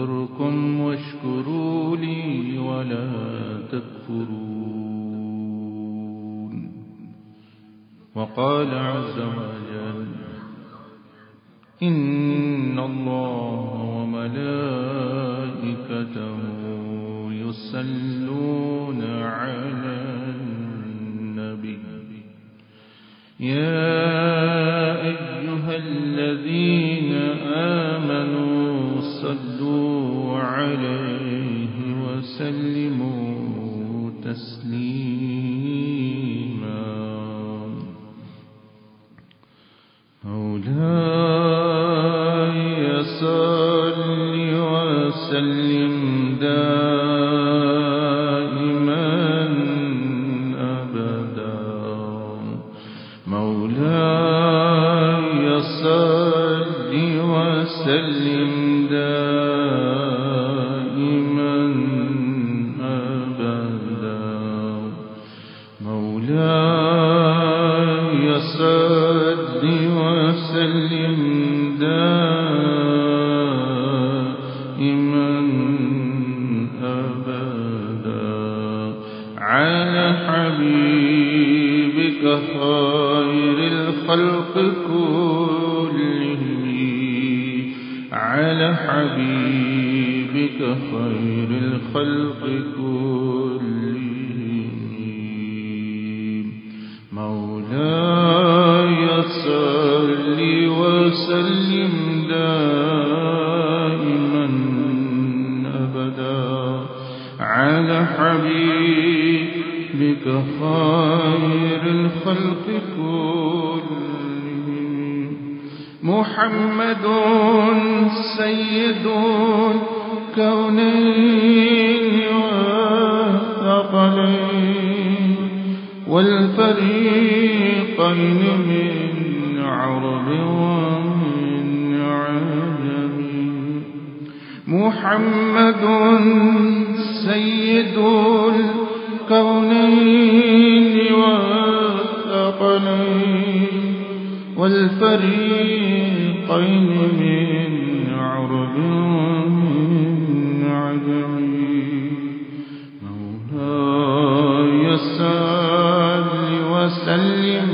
أذكركم واشكروا لي ولا تكفرون. وقال عز وجل: إن الله وملائكته يصلون على النبي يا أيها الذين آمنوا صلوا عليه وسلموا تسليما. مولاي صل وسلم دائما أبدا. مولاي صل وسلم دائما أبدا. مولاي صل وسلم دائما أبدا على حبيبك خير الخلق كلهم، على حبيبك خير الخلق كلهم. مولاي صل وسلم دائما أبدا على حبيبك خير الخلق كلهم. محمد سيد الكونين والثقلين والفريقين من عرب ومن عجم. محمد سيد الكونين والثقلين والفريقين من عرب ومن عجم. مولاي صل وسلم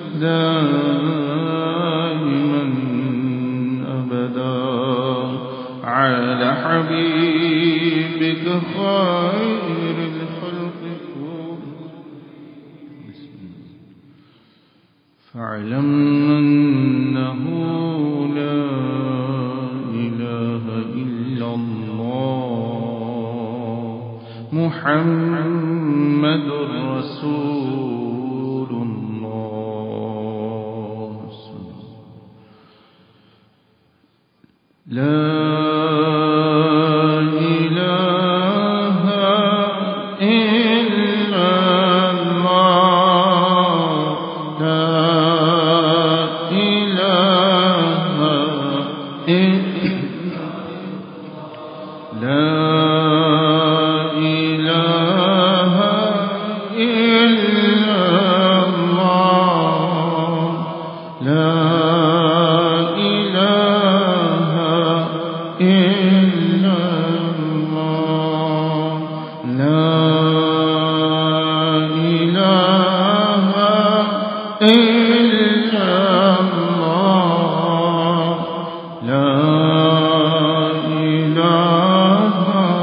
دائما أبدا على حبيبك خير الخلق كلهم. فاعلم أنه لا إله إلا الله محمد رسول الله. لا إله إلا الله. لا إله إلا لا إله إلا الله. لا إله إلا الله. لا إله إلا الله. لا إله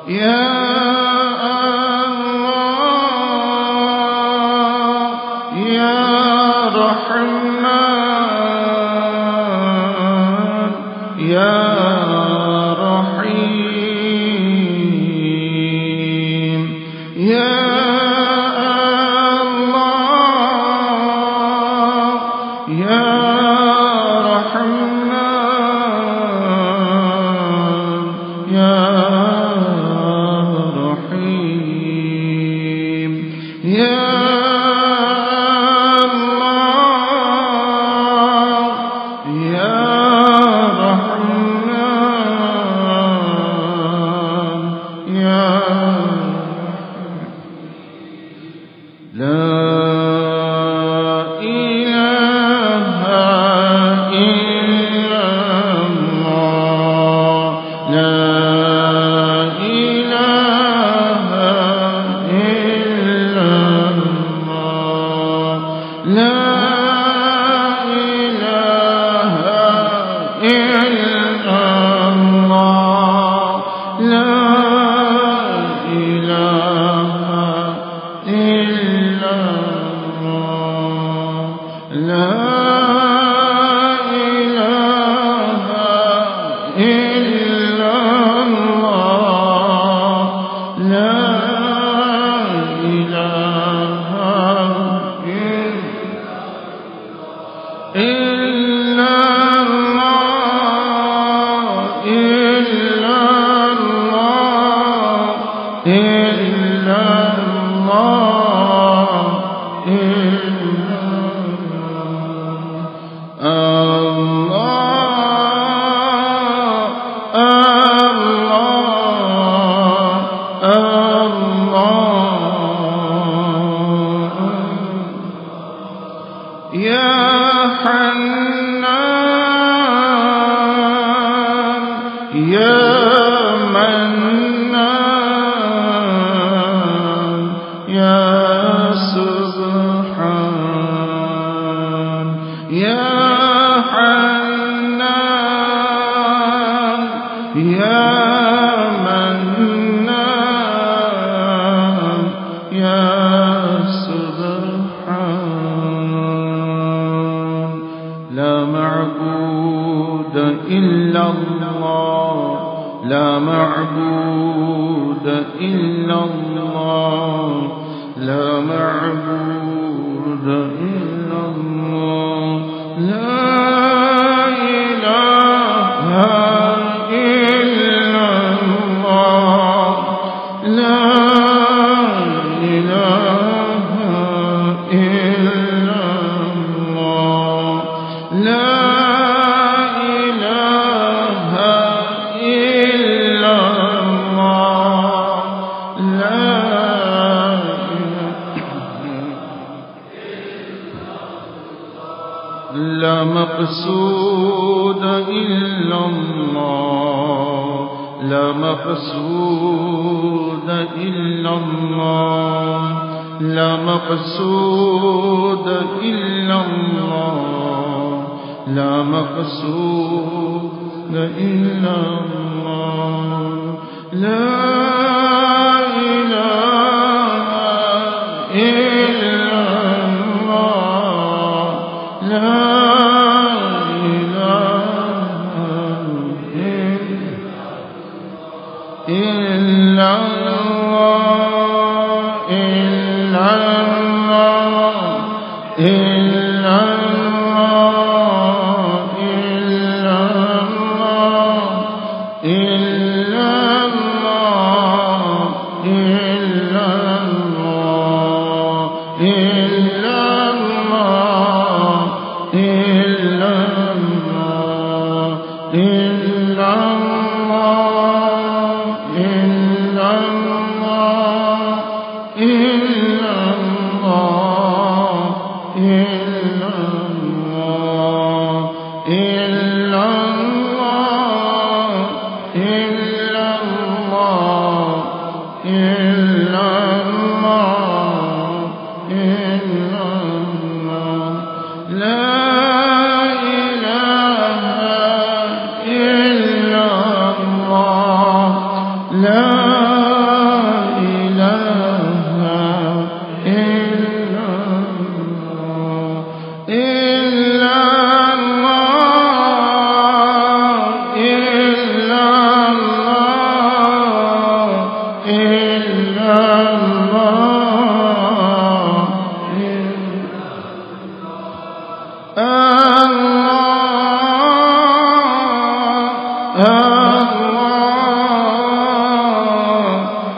لا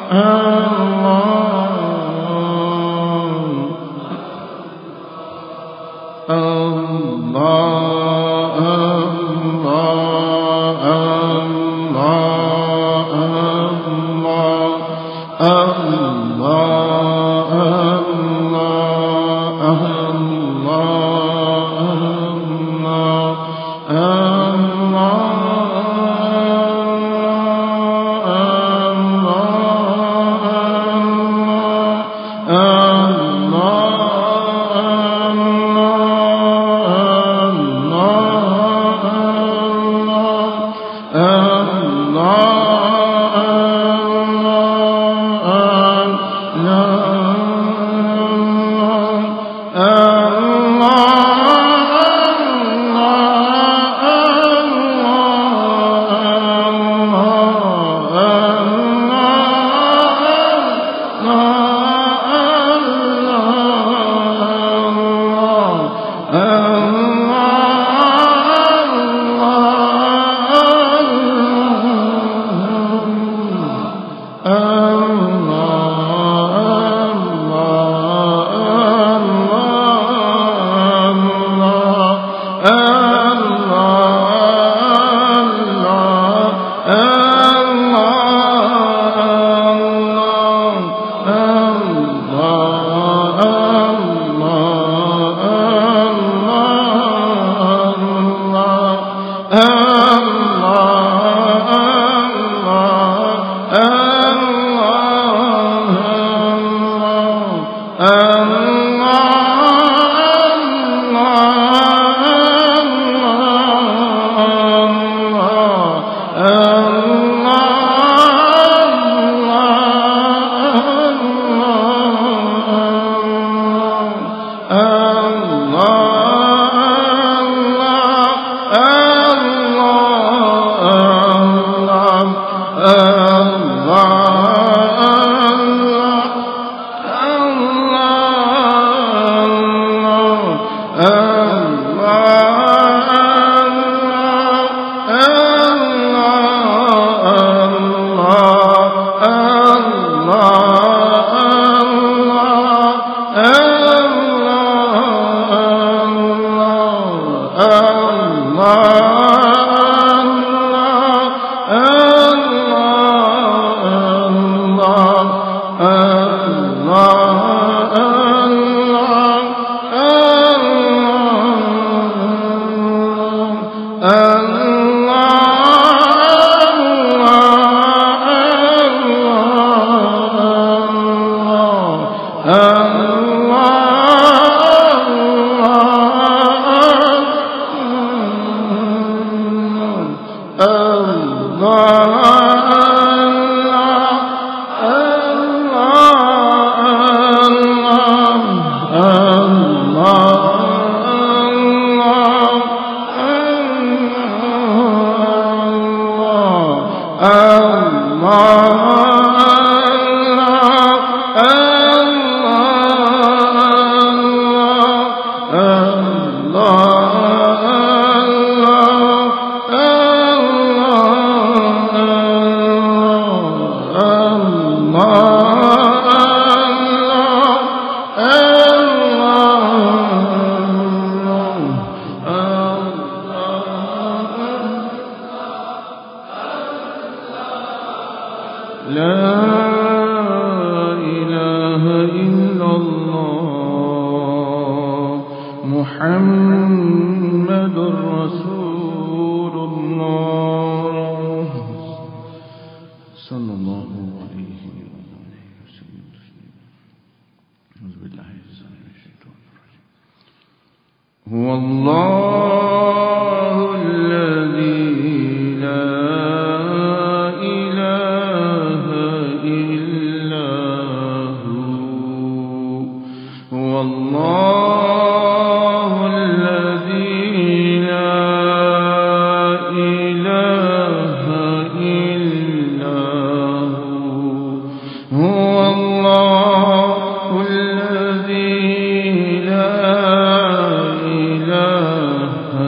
إله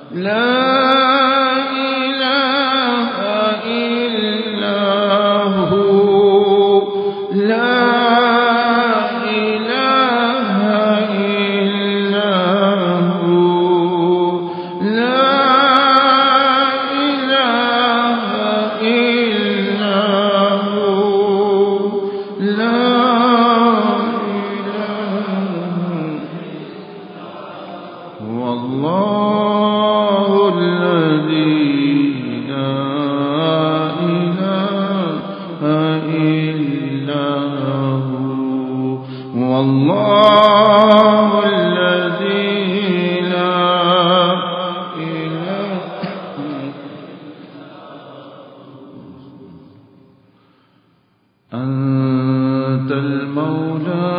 أنت المولى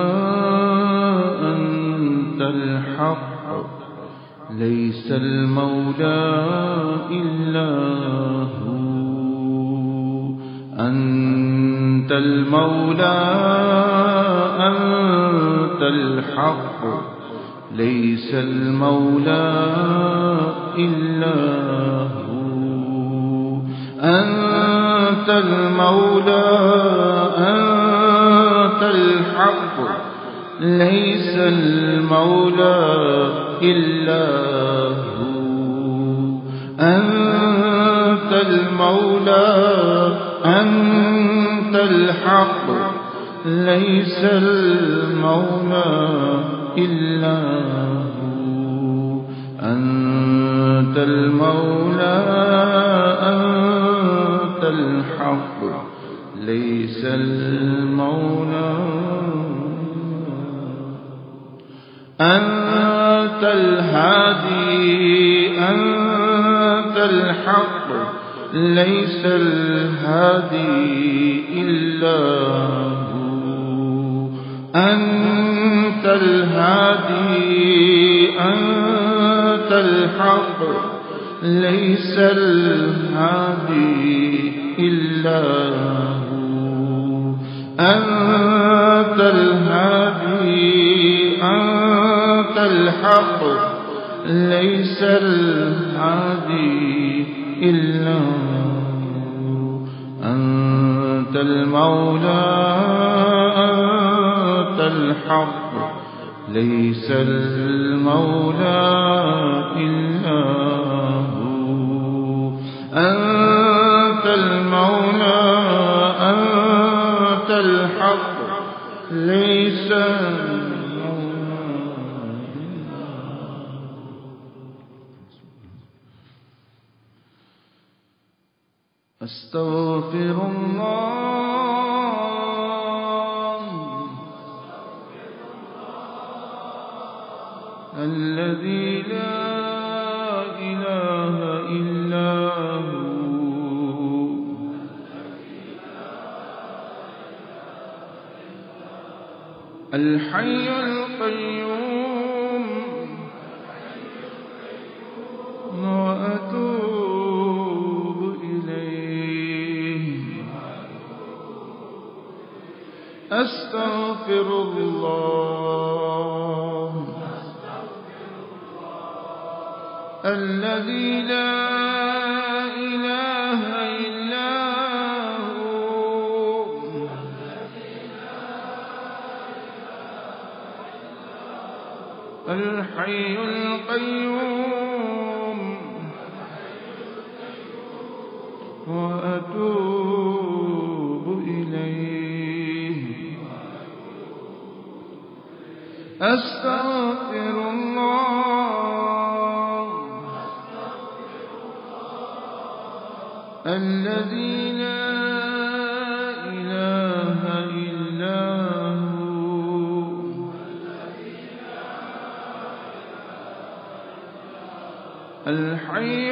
أنت الحق ليس المولى إلا هو. أنت المولى أنت الحق ليس المولى إلا هو. أنت المولى أنت الحق ليس المولى إلا هو. أنت المولى أنت الحق ليس المولى إلا هو. أنت المولى أنت الحق ليس المولى. أنت الهادي أنت الحق ليس الهادي إلا هو. أنت الهادي أنت الحق ليس الهادي إلا هو. أنت الهادي أنت الحق ليس الهادي إلا هو. أنت المولى أنت الحق ليس المولى إلا هو. أنت المولى أنت الحق ليس أستغفر الله الذي لا إله إلا هو. الحي القيوم وأتوب إليه. أستغفر الله الذي لا إله إلا هو. الحي القيوم وأتوب إليه. أستغفر الله الذي لا إله إلا هو. الحي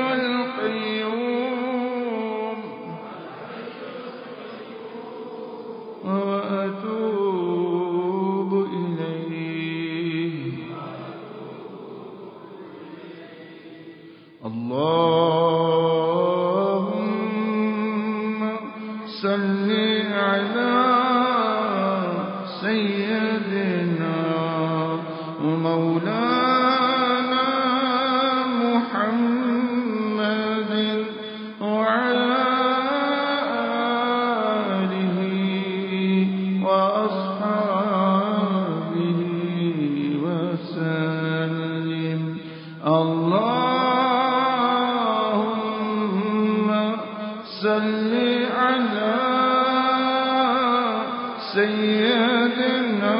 القيوم وأتوب إليه. اللهم صل على سيدنا ومولانا محمد اللهم صل على سيدنا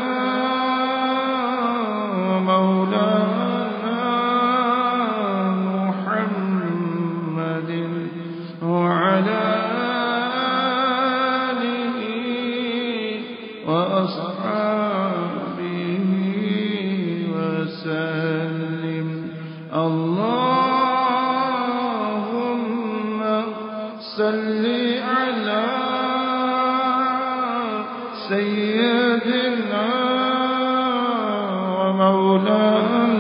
مولانا محمد وعلى آله وأصحابه وسلم. اللهم صل على سيدنا ومولانا